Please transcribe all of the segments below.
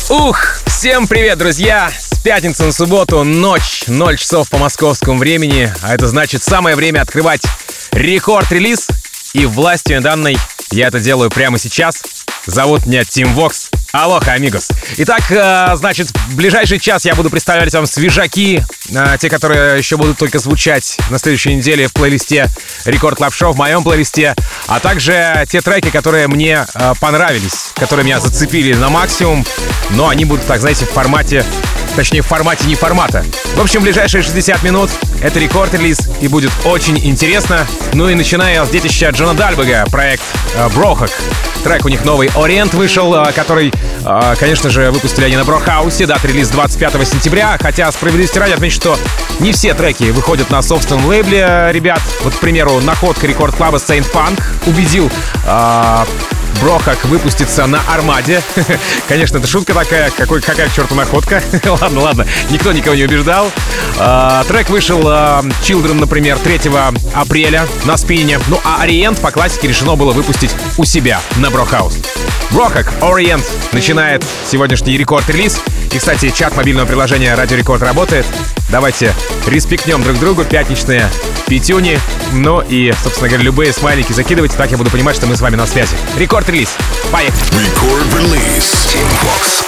Всем привет, друзья! С пятницы на субботу, ночь, 0 часов по московскому времени. А это значит самое время открывать рекорд-релиз. И властью данной я это делаю прямо сейчас. Зовут меня Тим Вокс. Алоха, амигос. Итак, значит, в ближайший час я буду представлять вам свежаки, те, которые еще будут только звучать на следующей неделе в плейлисте Рекорд Клаб Шоу, в моем плейлисте, а также те треки, которые мне понравились, которые меня зацепили на максимум, но они будут, так знаете, в формате не формата. В общем, в ближайшие 60 минут это рекорд-релиз и будет очень интересно. Ну и начиная с детища Джона Дальбега, проект Брохак. Трек у них новый «Ориент» вышел, который, конечно же, выпустили они на Брохаусе. Дата релиз 25 сентября. Хотя, справедливости ради, отмечу, что не все треки выходят на собственном лейбле, ребят. Вот, к примеру, находка рекорд-клаба Saint Punk убедил Брохак выпустится на Армаде. Конечно, это шутка такая, какая к черту находка. Ладно, никто никого не убеждал. Трек вышел Children, например, 3 апреля на спине. Ну а Ориент по классике решено было выпустить у себя на Брохаус. Брохак, Ориент начинает сегодняшний рекорд-релиз. И, кстати, чат мобильного приложения Радио Рекорд работает. Давайте респектнем друг другу, пятничные пятюни. Ну и, собственно говоря, любые смайлики закидывайте, так я буду понимать, что мы с вами на связи. Рекорд-релиз. Поехали. Рекорд-релиз. Team Fox.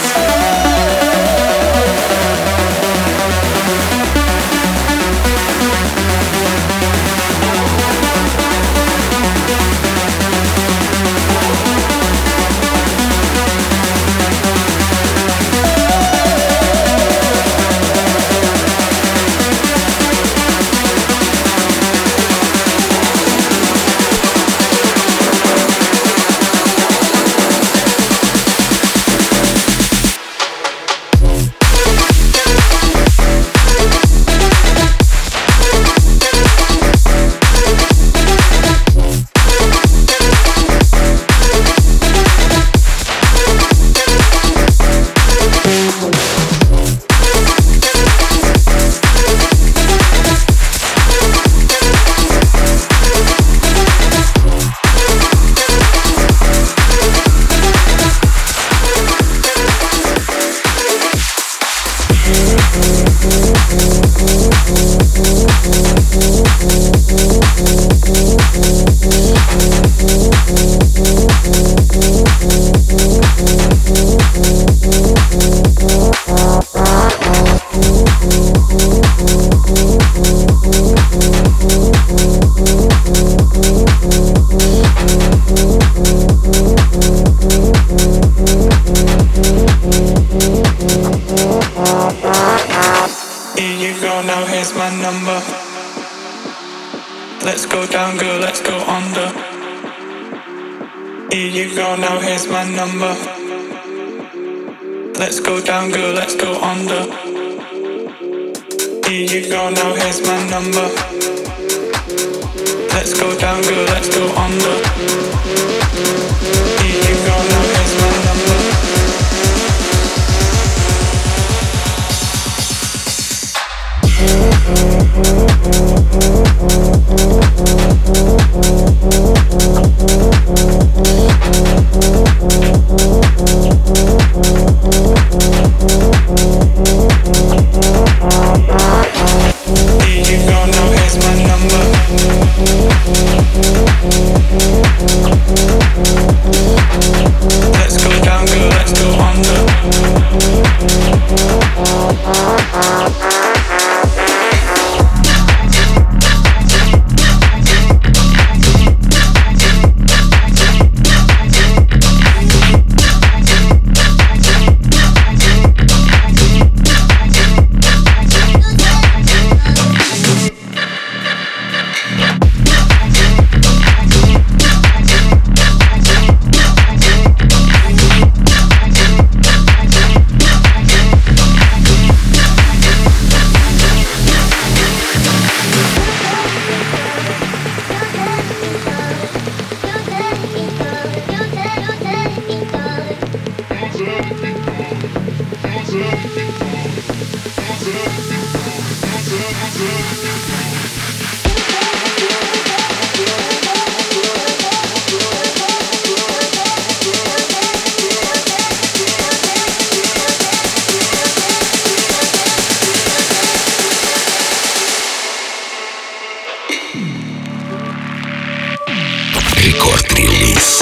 Let's go down, girl, let's go under. Here you go, now here's my number. Let's go down, girl, let's go under. Here you go, now here's my number. Рекорд-релиз.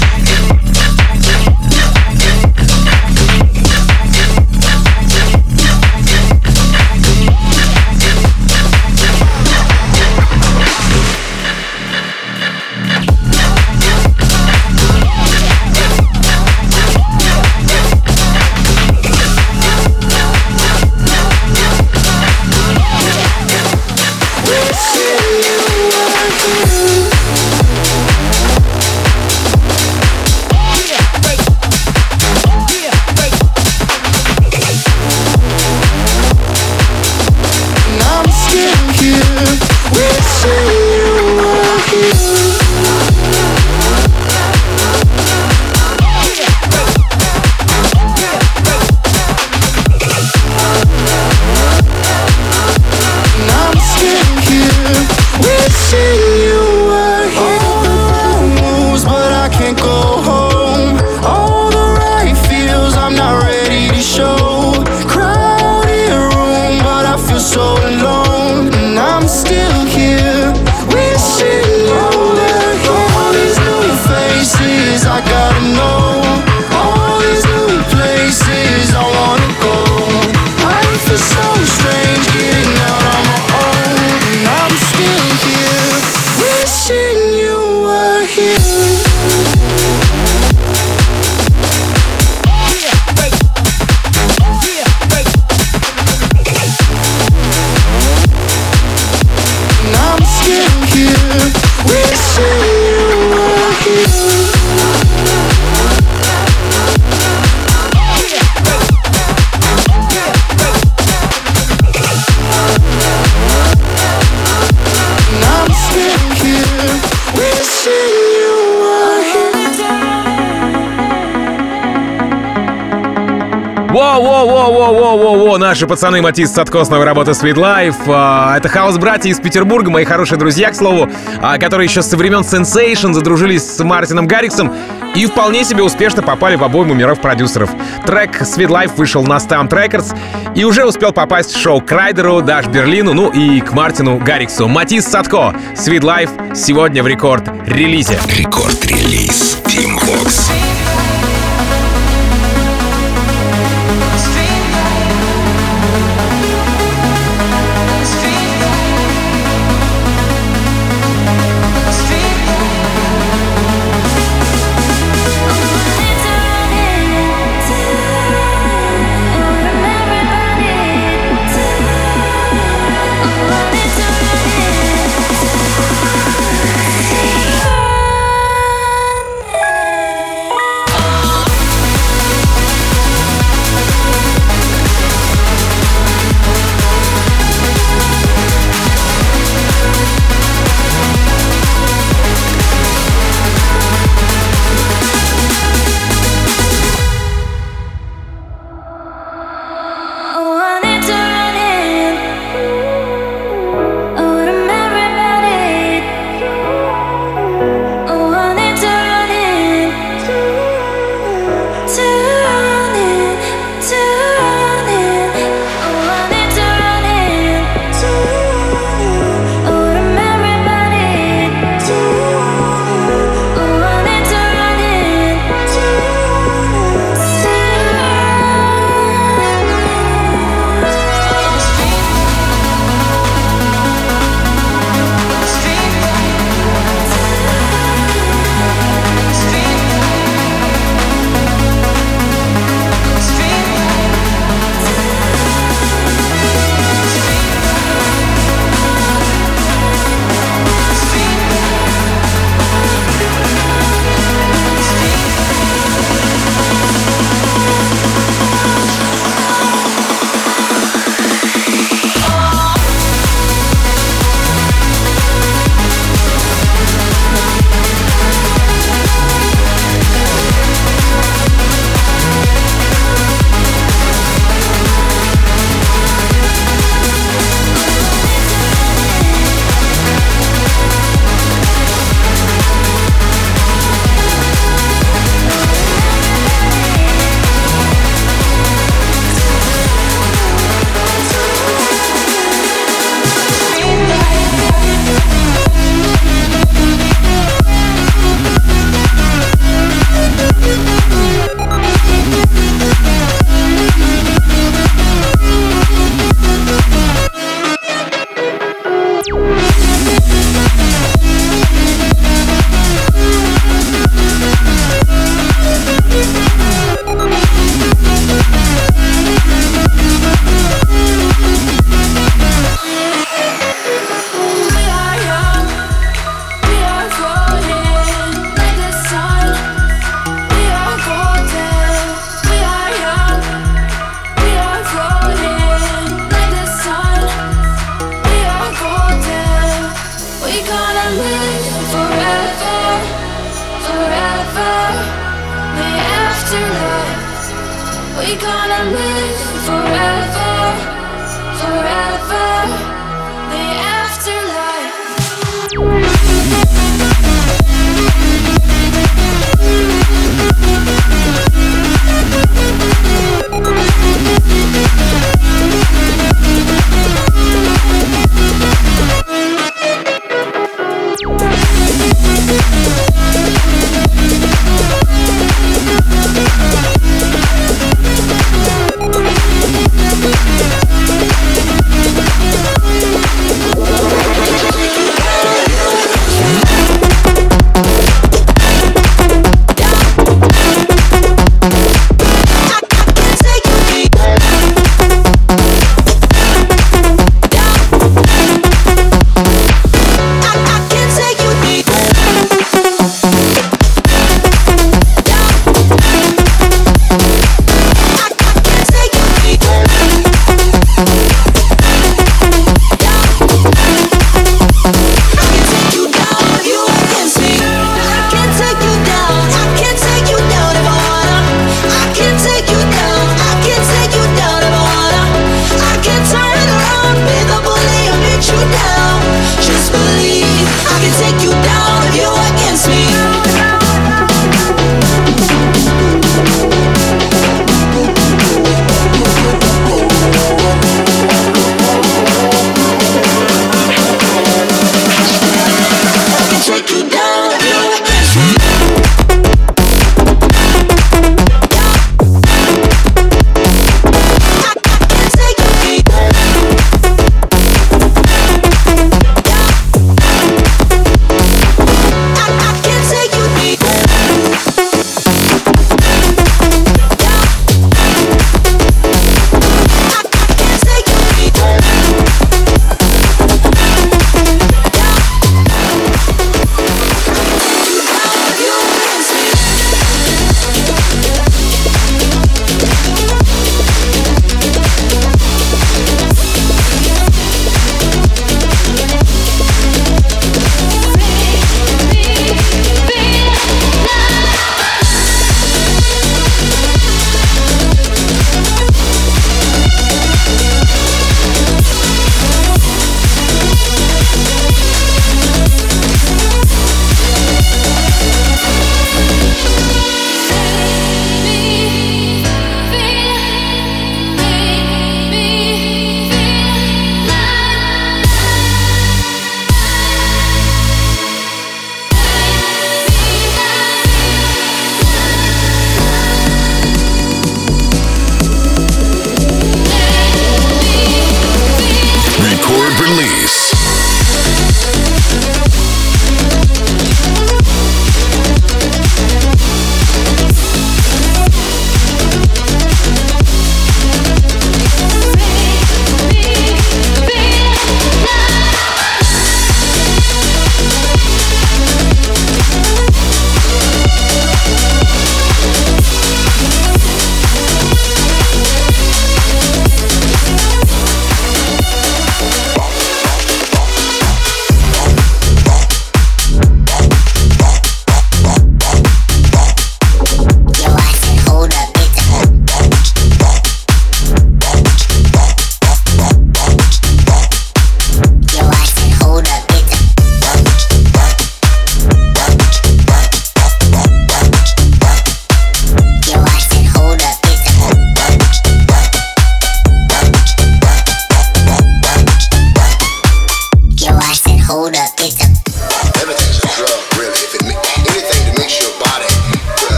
Воу-воу-воу-воу-воу-воу-воу, наши пацаны Матис Садко с новой работы Sweet Life. Это хаус-братья из Петербурга, мои хорошие друзья, к слову, которые еще со времен Sensation задружились с Мартином Гарриксом и вполне себе успешно попали в обойму миров продюсеров. Трек Sweet Life вышел на Stamped Records и уже успел попасть в шоу к Райдеру, Даш Берлину, ну и к Мартину Гарриксу. Матис Садко, Sweet Life, сегодня в рекорд-релизе. Рекорд-релиз Team Vox. We gonna live forever, forever, the afterlife.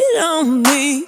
it on me.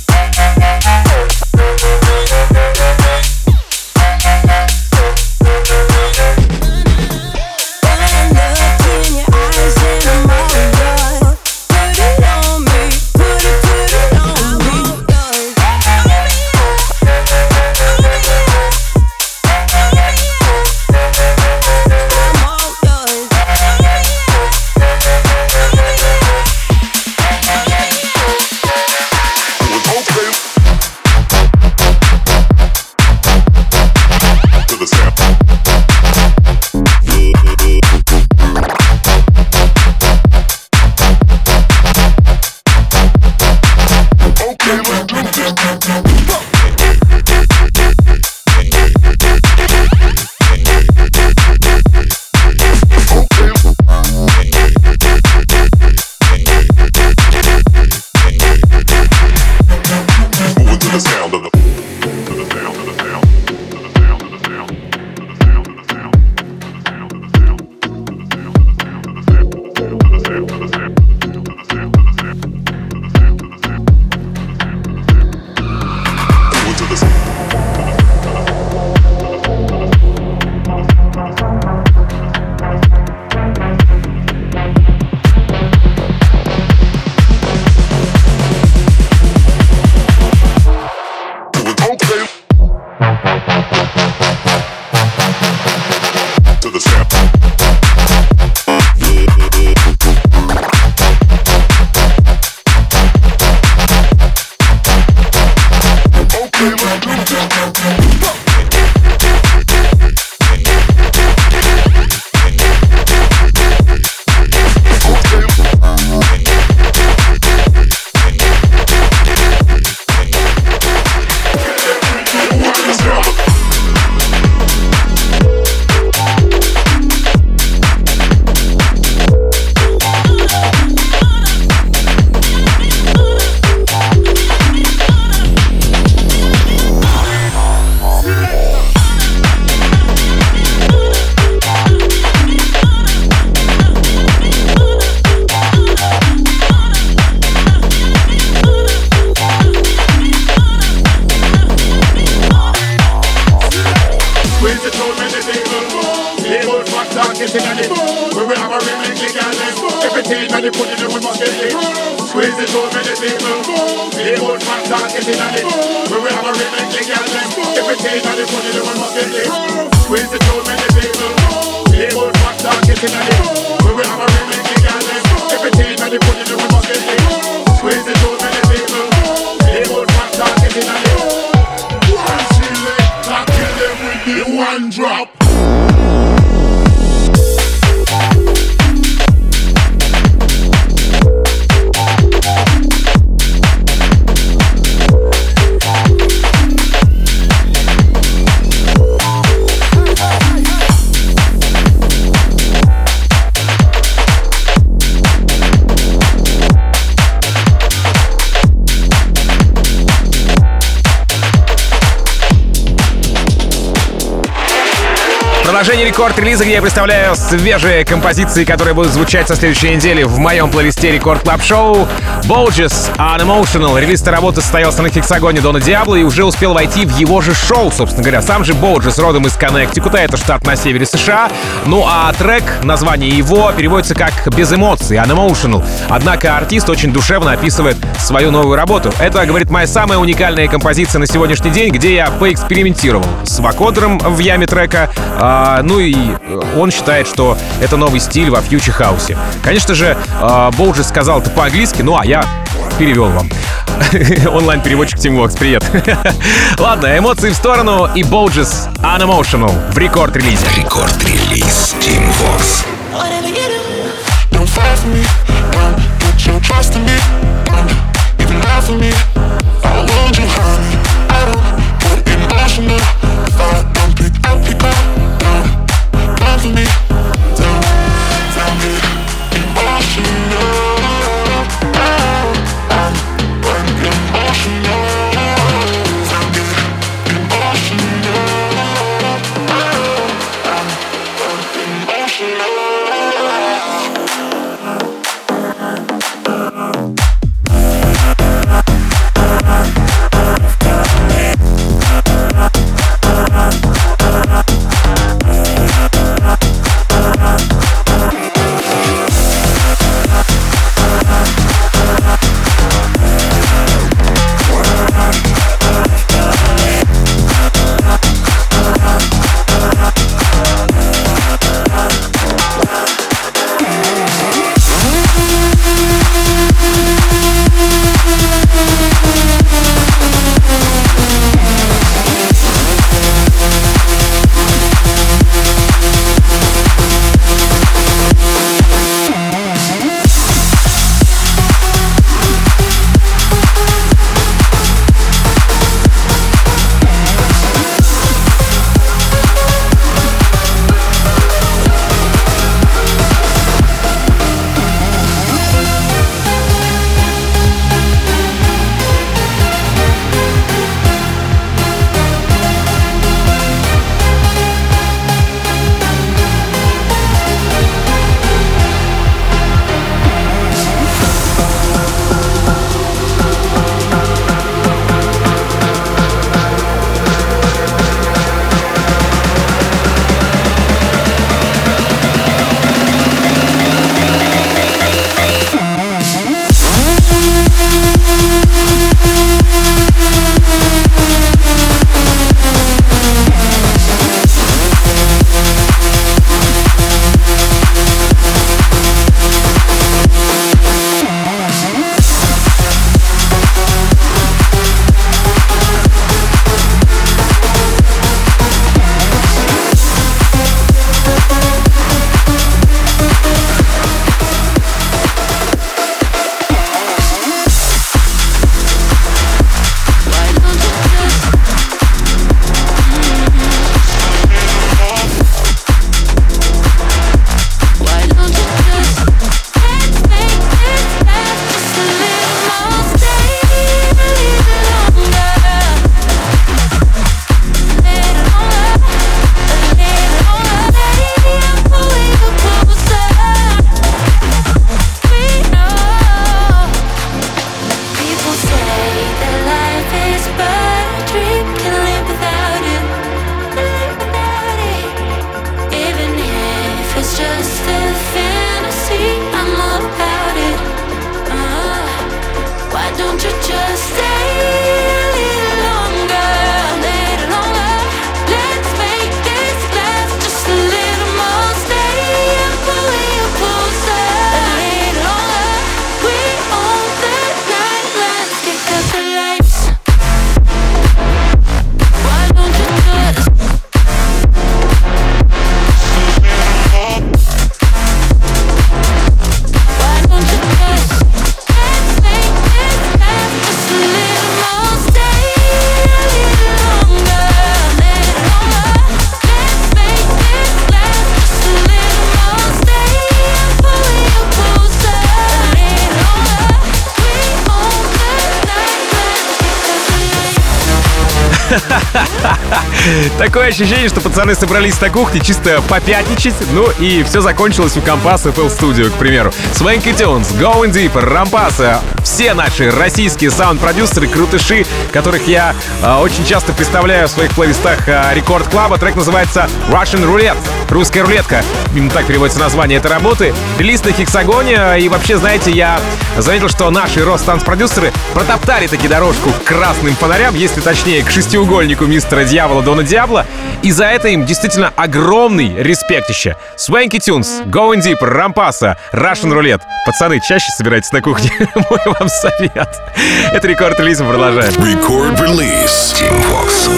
Продолжение рекорд-релиза, где я представляю свежие композиции, которые будут звучать со следующей недели в моем плейлисте Рекорд Клаб Шоу. Boges Unemotional. Релиз этой работы состоялся на Хексагоне Дона Диабло и уже успел войти в его же шоу, собственно говоря. Сам же Boges родом из Коннектикута, это штат на севере США. Ну а трек, название его, переводится как «без эмоций», Unemotional. Однако артист очень душевно описывает свою новую работу. Это, говорит, моя самая уникальная композиция на сегодняшний день, где я поэкспериментировал с вокодером в яме трека. Ну и он считает, что это новый стиль во фьючер-хаусе. Конечно же, Boges сказал это по-английски, ну а я перевел вам. Онлайн-переводчик Team Vox, привет. Ладно, эмоции в сторону и Boges Unemotional в рекорд-релизе. Рекорд-релиз Team Vox. Don't fight for me, don't put your trust in me, don't even lie for me. I want you, honey. I don't put emotional. If I don't pick up, don't run for me. Don't get emotional. I'm emotional. Don't get emotional. I'm emotional. Такое ощущение, что пацаны собрались на кухне чисто попятничать. Ну и все закончилось у Компаса FL Studio, к примеру. Swanky Tunes, Going Deeper, Рампаса. Все наши российские саунд-продюсеры, крутыши, которых я очень часто представляю в своих плейлистах Рекорд Клаба. Трек называется Russian Roulette. Русская рулетка. Именно так переводится название этой работы. Релиз на Хексагоне. И вообще, знаете, я заметил, что наши Ростанц-продюсеры протоптали таки дорожку к красным фонарям, если точнее, к шестиугольнику мистера Дьявола Дона Диабло. И за это им действительно огромный респектище. Swanky Tunes, Going Deeper, Рампаса, Russian Roulette. Пацаны, чаще собирайтесь на кухне. Мой вам совет. Это рекорд-релиз, мы продолжаем. Рекорд-релиз Team Vox.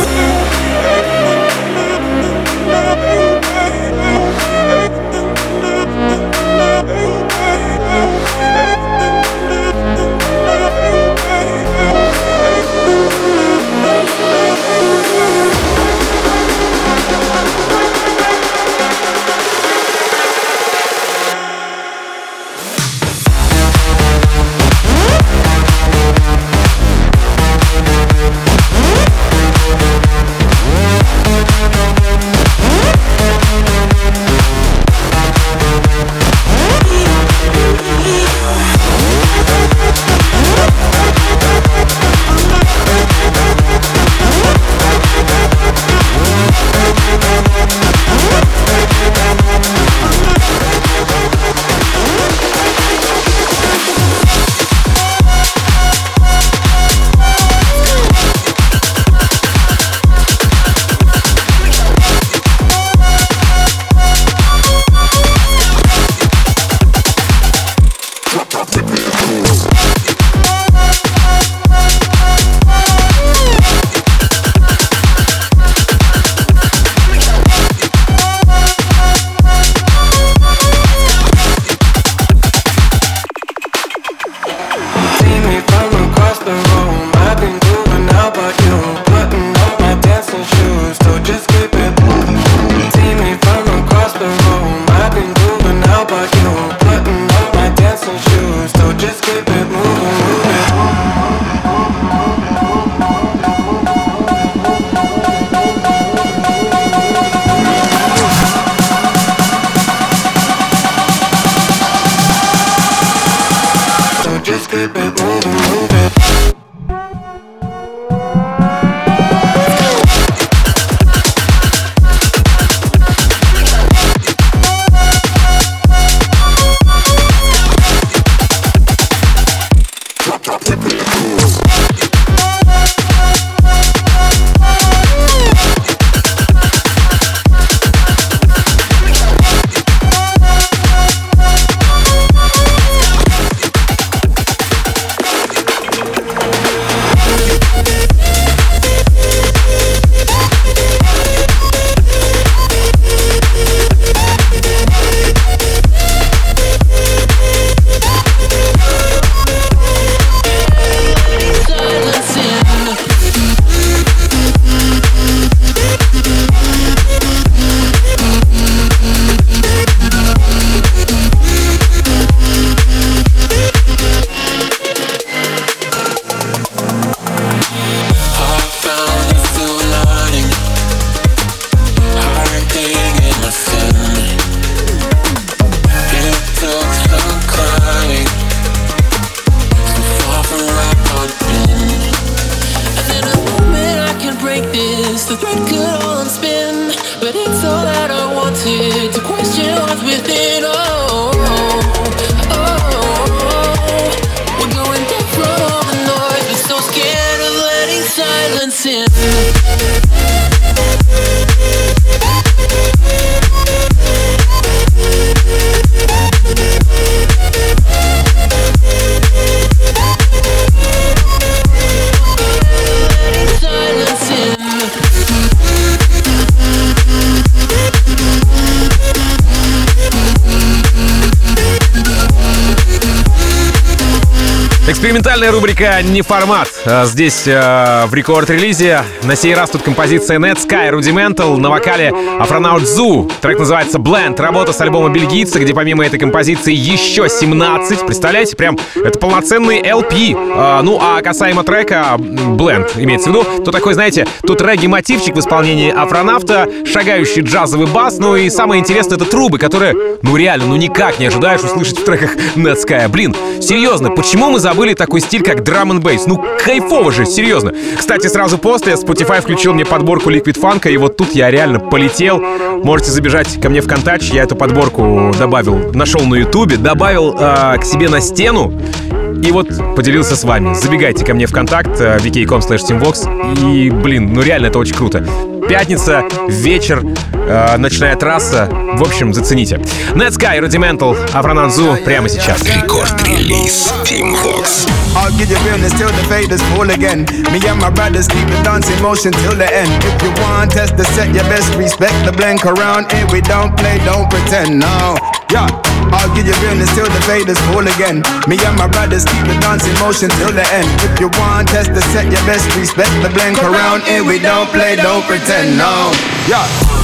Экспериментальная рубрика «Не формат». Здесь в рекорд-релизе. На сей раз тут композиция Netsky Rudimental на вокале Afronaut Zoo. Трек называется Blend. Работа с альбома бельгийца, где помимо этой композиции еще 17. Представляете, прям это полноценный LP. Ну а касаемо трека Blend, имеется в виду, то такой, знаете, тут регги-мотивчик в исполнении Афронавта, шагающий джазовый бас, ну и самое интересное — это трубы, которые, ну реально, ну никак не ожидаешь услышать в треках Netsky. Блин, серьезно, почему мы забыли такой стиль, как драм н бейс? Ну, кайфово же, серьезно. Кстати, сразу после Spotify включил мне подборку Liquid Funk, и вот тут я реально полетел. Можете забежать ко мне в контакт, я эту подборку добавил, нашел на Ютубе, добавил к себе на стену, и вот поделился с вами. Забегайте ко мне в контакт, vk.com/teamvox, и, блин, ну реально это очень круто. Pятница, вечер, ночная трасса. В общем, зацените. Netsky Rudimental, Afronaut Zoo прямо сейчас. Рекорд-релиз Team Vox. I'll give you realness till the faders fall again. Me and my brothers keep the dance in motion till the end. If you want test the set, you best respect the blink around here. We don't play, don't pretend, no. Yeah, I'll give you realness till the faders fall again. Me and my brothers keep the dance in motion till the end. If you want test the set, you best respect the blink around here. We don't play, don't pretend, no. Yeah.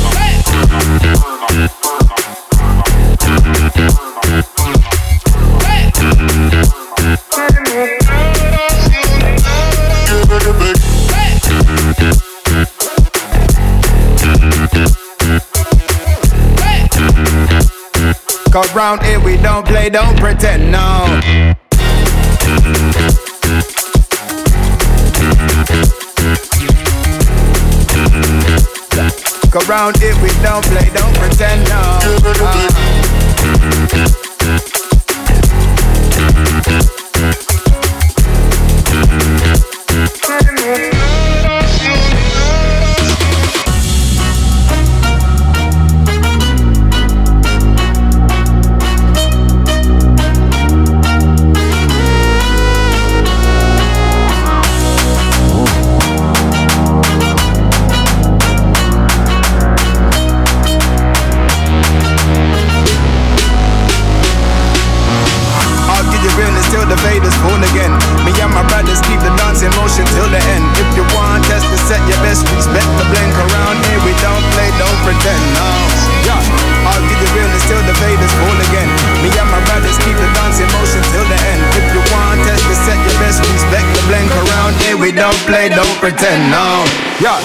Cause round here we don't play, don't pretend, no. Cause round here we don't play, don't pretend, no. Pretend, no. Yeah.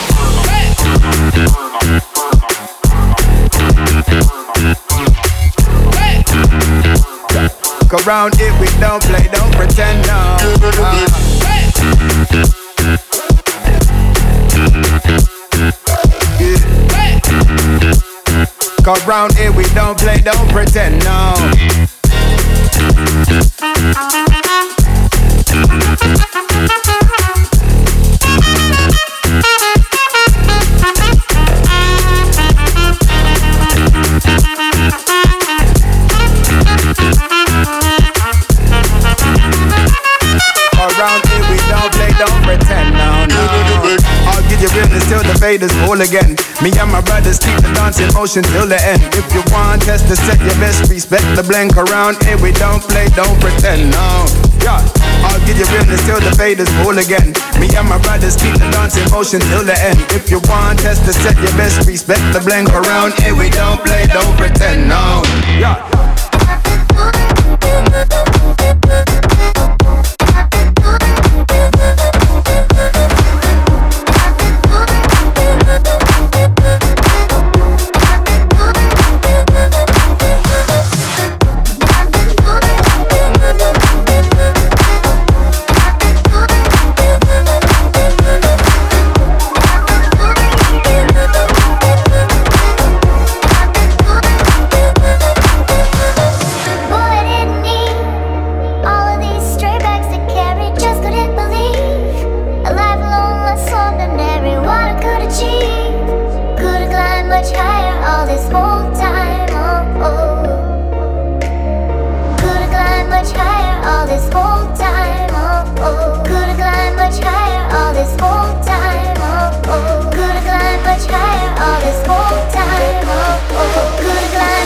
Cause round here we don't play, don't pretend, no. Cause round here we don't play, don't pretend, no. Faders fall again. Me and my brothers keep the dance in motion till the end. If you want test the set, you best respect the blink around here. We don't play, don't pretend, no. Yeah, I'll give you realness till the faders fall again. Me and my brothers keep the dance in motion till the end. If you want test the set, you best respect the blink around here. We don't play, don't pretend, no. Yeah.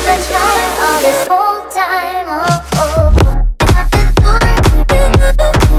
This whole time, oh, oh.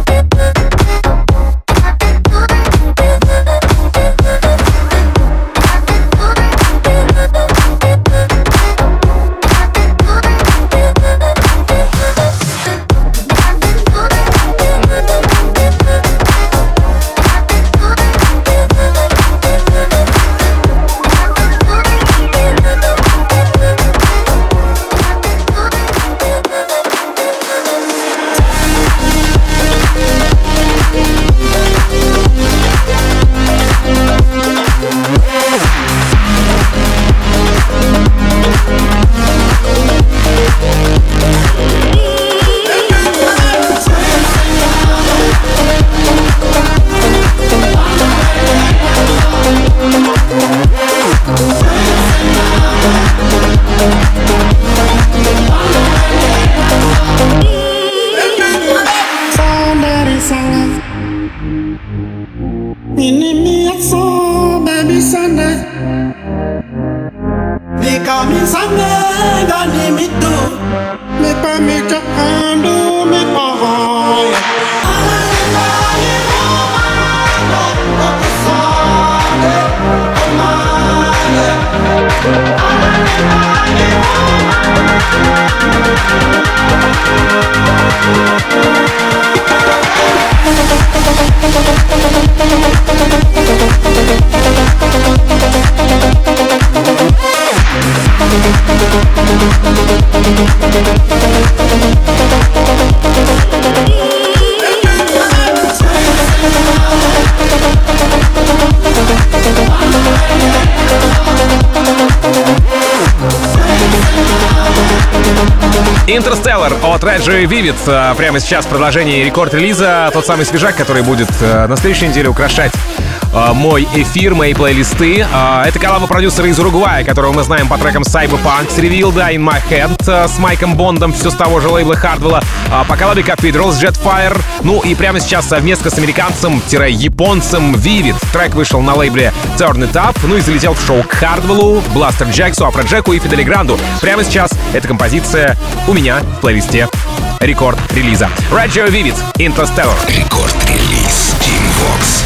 Interstellar от Reggie Vivid. Прямо сейчас продолжение рекорд-релиза. Тот самый свежак, который будет на следующей неделе украшать мой эфир, мои плейлисты. Это коллаба продюсера из Уругвая, которого мы знаем по трекам Cyberpunk, Revealed, In My Head с Майком Бондом, все с того же лейбла Hardwell, по коллабе Cathedral с Jetfire. Ну и прямо сейчас совместно с американцем-японцем Vivid. Трек вышел на лейбле Turn It Up, ну и залетел в шоу к Hardwell, Бластер Джексу, Афроджеку и Фидели Гранду. Прямо сейчас эта композиция у меня в плейлисте рекорд-релиза. Reggie Vivid, Interstellar. Рекорд-релиз Team Vox.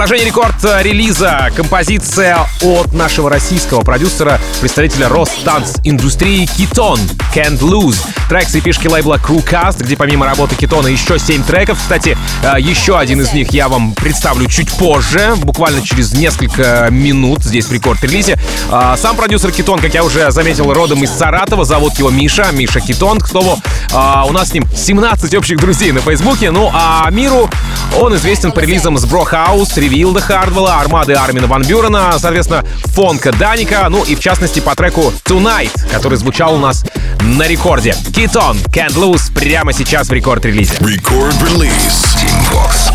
Продолжение рекорд-релиза. Композиция от нашего российского продюсера, представителя Росданс-индустрии Keton, Can't Lose. Трек с эпишки лейбла Crewcast, где помимо работы Кетона еще 7 треков. Кстати, еще один из них я вам представлю чуть позже, буквально через несколько минут здесь в рекорд-релизе. Сам продюсер Keton, как я уже заметил, родом из Саратова. Зовут его Миша Keton. К слову, у нас с ним 17 общих друзей на Фейсбуке. Ну а миру он известен по релизам с Bro House, Ревилда Хардвелла, Армады Армина Ван Бюрена, соответственно, Фонка Даника, ну и в частности по треку Tonight, который звучал у нас на рекорде. Keton, Can't Lose прямо сейчас в рекорд-релизе. Рекорд-релиз. Team Vox.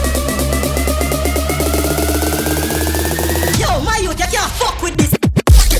Yo, my youth, you can't fuck with this.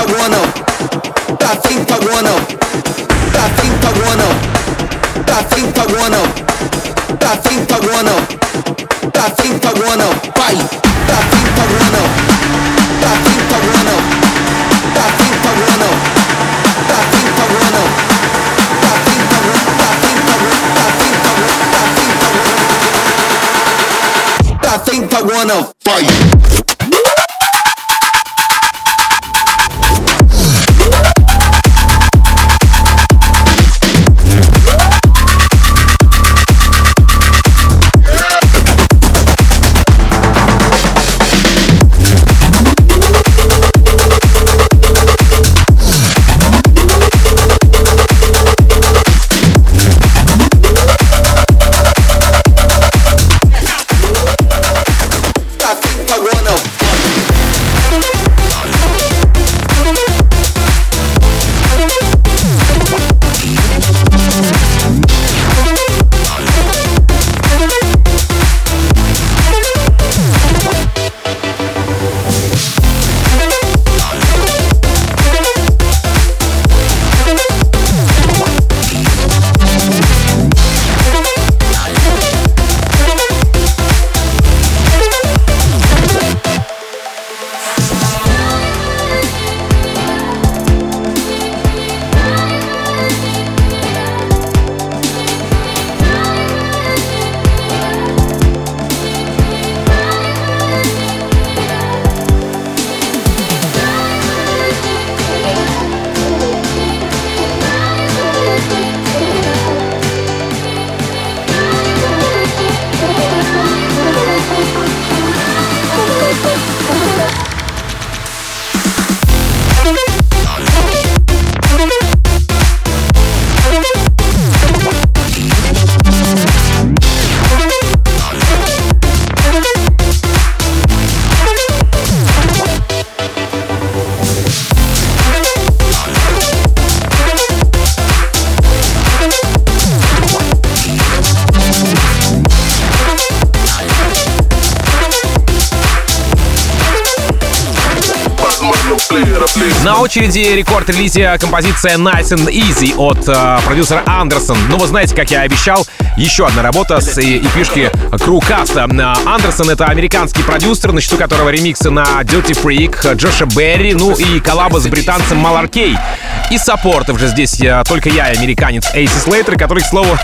На очереди рекорд-релизе композиция Nice and Easy от продюсера Андерсон. Ну, вы знаете, как я обещал, еще одна работа с эпишки Crewcast. Андерсон — это американский продюсер, на счету которого ремиксы на Dirty Freak, Джоша Берри, ну и коллаба с британцем Малар Кей. И саппортов же здесь только я, американец Эйси Слейтер, который, к слову,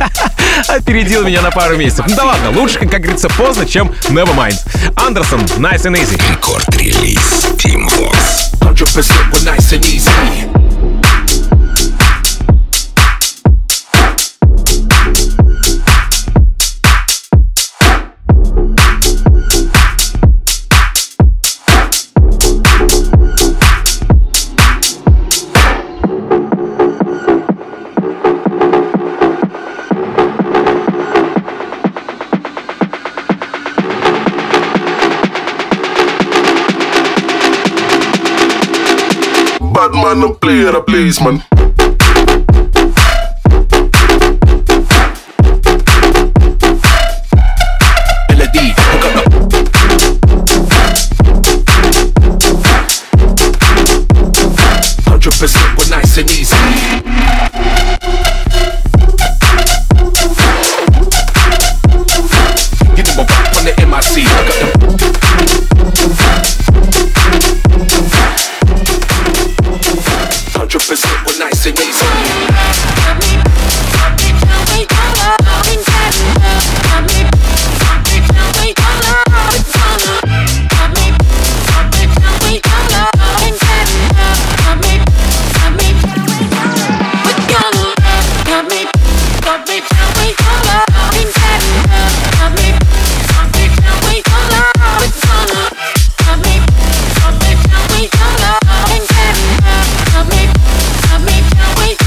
опередил меня на пару месяцев. Ну да ладно, лучше, как говорится, поздно, чем Nevermind. Андерсон, Nice and Easy. Рекорд-релиз Team Vox. 100% we're nice and easy. Bad man, no play the place, man. Melody, hook up. 100% we're nice and easy. Get them a pop on the MIC. I got them. We're nice and easy. Wait.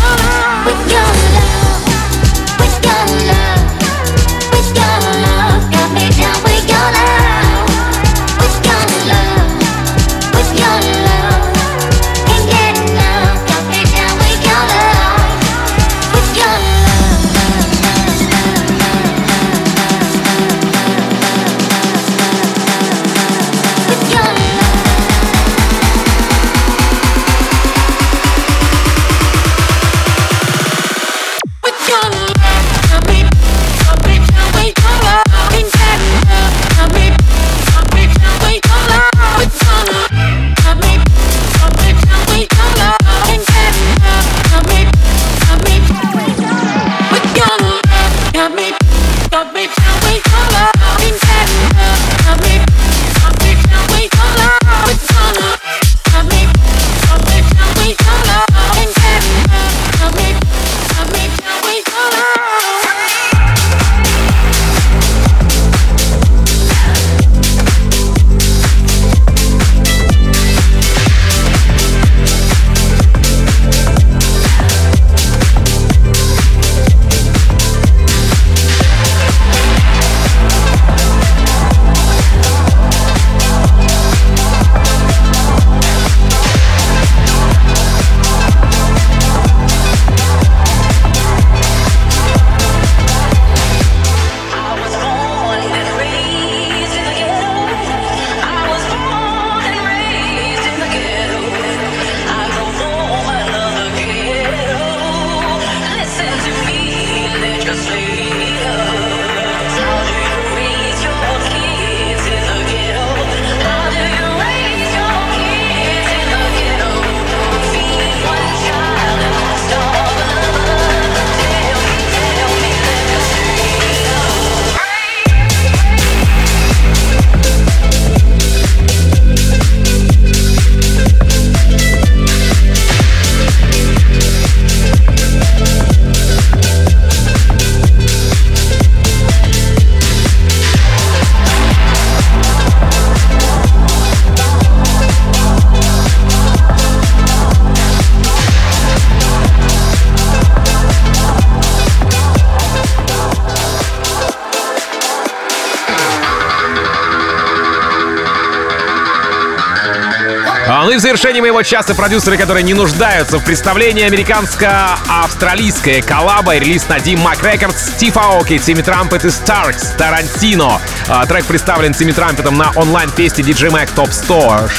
в завершении моего часа продюсеры, которые не нуждаются в представлении. Американско-австралийская коллаба и релиз на D-Mac Records. Стив Аоки, Тимми Трампет и Старкс, Тарантино. Трек представлен Тимми Трампетом на онлайн-фесте DJ Mag Top 100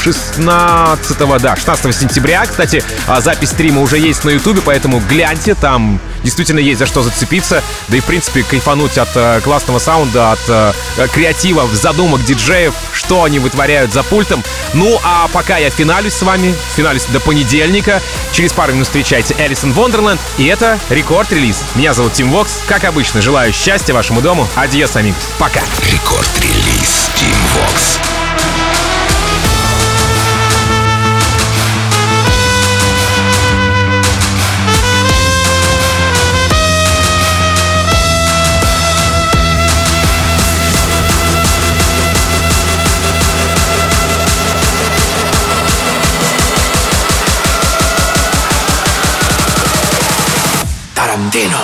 16 сентября. Кстати, запись стрима уже есть на Ютубе, поэтому гляньте, там действительно есть за что зацепиться. Да и, в принципе, кайфануть от классного саунда, от креатива, задумок диджеев, что они вытворяют за пультом. Ну, а пока я финалюсь с вами, финалюсь до понедельника. Через пару минут встречайте Элисон Вондерленд, и это рекорд-релиз. Меня зовут Тим Вокс. Как обычно, желаю счастья вашему дому. Адьос, амигос. Пока. Рекорд-релиз Тим Вокс. Tarantino.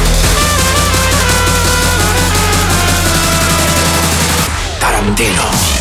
Tarantino.